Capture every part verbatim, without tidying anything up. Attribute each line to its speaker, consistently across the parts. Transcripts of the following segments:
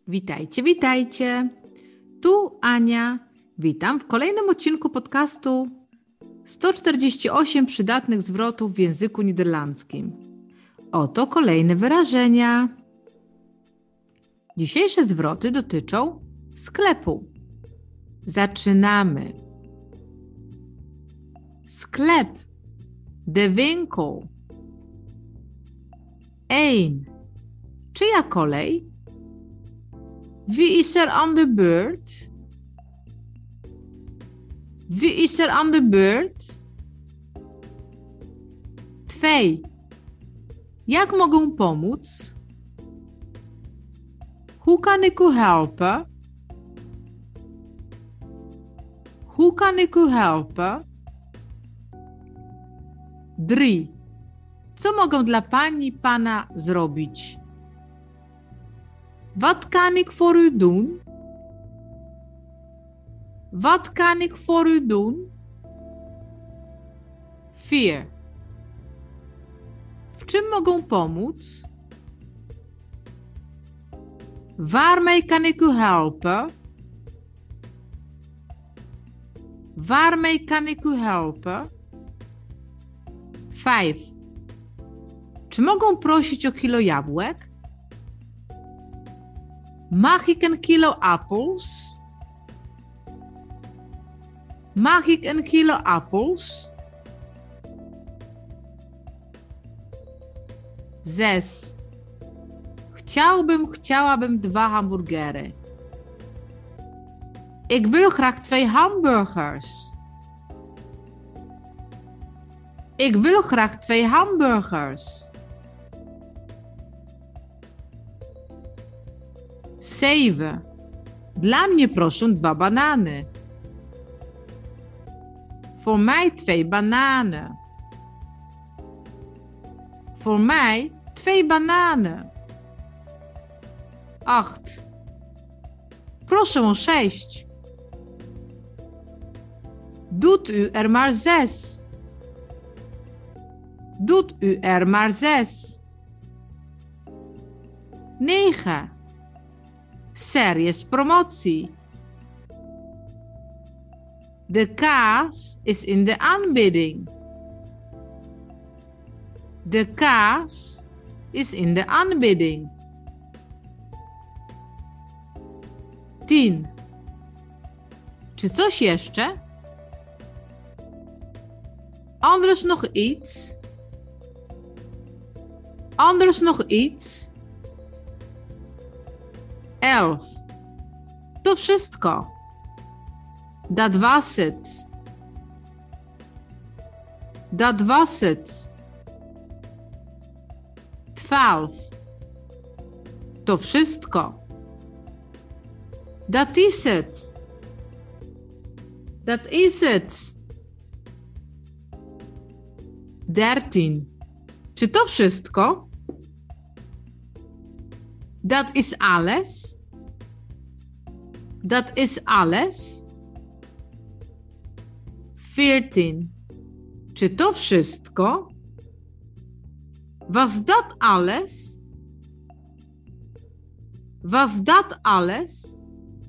Speaker 1: Witajcie, witajcie. Tu Ania. Witam w kolejnym odcinku podcastu sto czterdzieści osiem przydatnych zwrotów w języku niderlandzkim. Oto kolejne wyrażenia. Dzisiejsze zwroty dotyczą sklepu. Zaczynamy. Sklep. De winkel. Eén. Czyja kolej? Wie is er aan de beurt? Wie is er aan de beurt? Twee. Jak mogę pomóc? Hoe kan ik u helpen? Hoe kan ik u helpen? Drie. Co mogę dla pani, pana zrobić? Wat kan ik voor u doen? Wat kan ik voor u doen? Vier. W czym mogę pomóc? Waarmee kan ik u helpen? Waarmee kan ik u helpen? Vijf. Czy mogę prosić o kilo jabłek? Mag ik een kilo appels? Mag ik een kilo appels? Zes. Chciałbym, chciałabym dwa hamburgery. Ik wil graag twee hamburgers. Ik wil graag twee hamburgers. Zeven. Dla mnie proszę dwa banany. Voor mij twee bananen. Voor mij twee bananen. Acht. Proszę o sześć. Doet u er maar zes. Doet u er maar zes. Negen. Ser jest promotie. De kaas is in de aanbieding. De kaas is in de aanbieding. Tien. Czy coś jeszcze? Anders nog iets? Anders nog iets? Elf. To wszystko. Dat was het. Dat was het. Twaalf. To wszystko. Dat is het. Dat is het. Dertien. Czy to wszystko? Dat is alles. Dat is alles. Veertien. Czy to wszystko? Was dat alles? Was dat alles?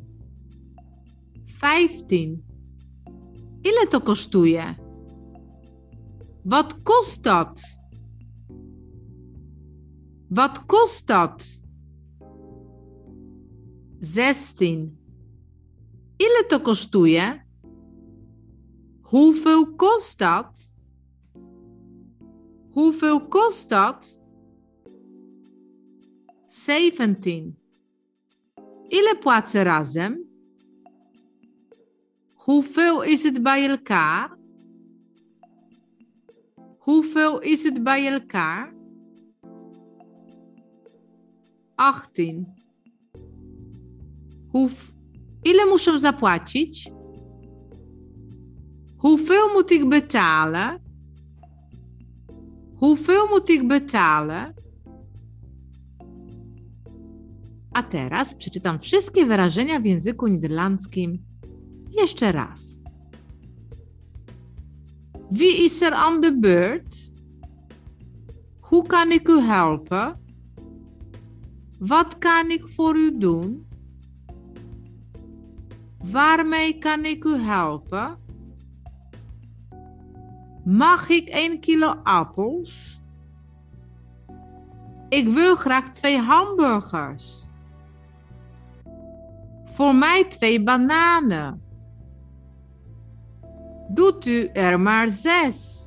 Speaker 1: Vijftien. Ile to kosztuje? Wat kost dat? Wat kost dat? Zestien. Ile to kosztuje? Hoeveel kost dat? Hoeveel kost dat? Zeventien. Ile płacę razem? Hoeveel is het bij elkaar? Hoeveel is het bij elkaar? Achttien. Hoe, ile muszę zapłacić? Hoeveel moet ik betalen? Hoeveel moet ik betalen? A teraz przeczytam wszystkie wyrażenia w języku niderlandzkim jeszcze raz. Wie is er aan de beurt? Hoe kan ik u helpen? Wat kan ik voor u doen? Waarmee kan ik u helpen? Mag ik een kilo appels? Ik wil graag twee hamburgers. Voor mij twee bananen. Doet u er maar zes.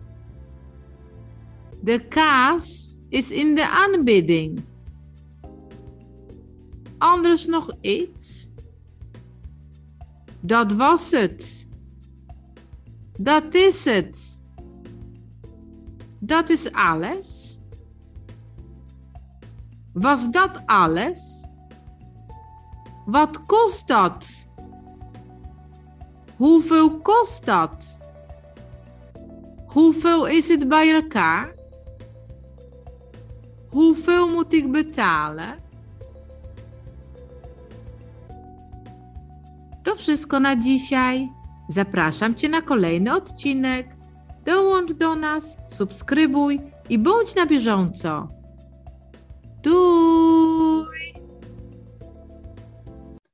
Speaker 1: De kaas is in de aanbieding. Anders nog iets? Dat was het. Dat is het. Dat is alles. Was dat alles? Wat kost dat? Hoeveel kost dat? Hoeveel is het bij elkaar? Hoeveel moet ik betalen? To wszystko na dzisiaj. Zapraszam Cię na kolejny odcinek. Dołącz do nas, subskrybuj i bądź na bieżąco. Tu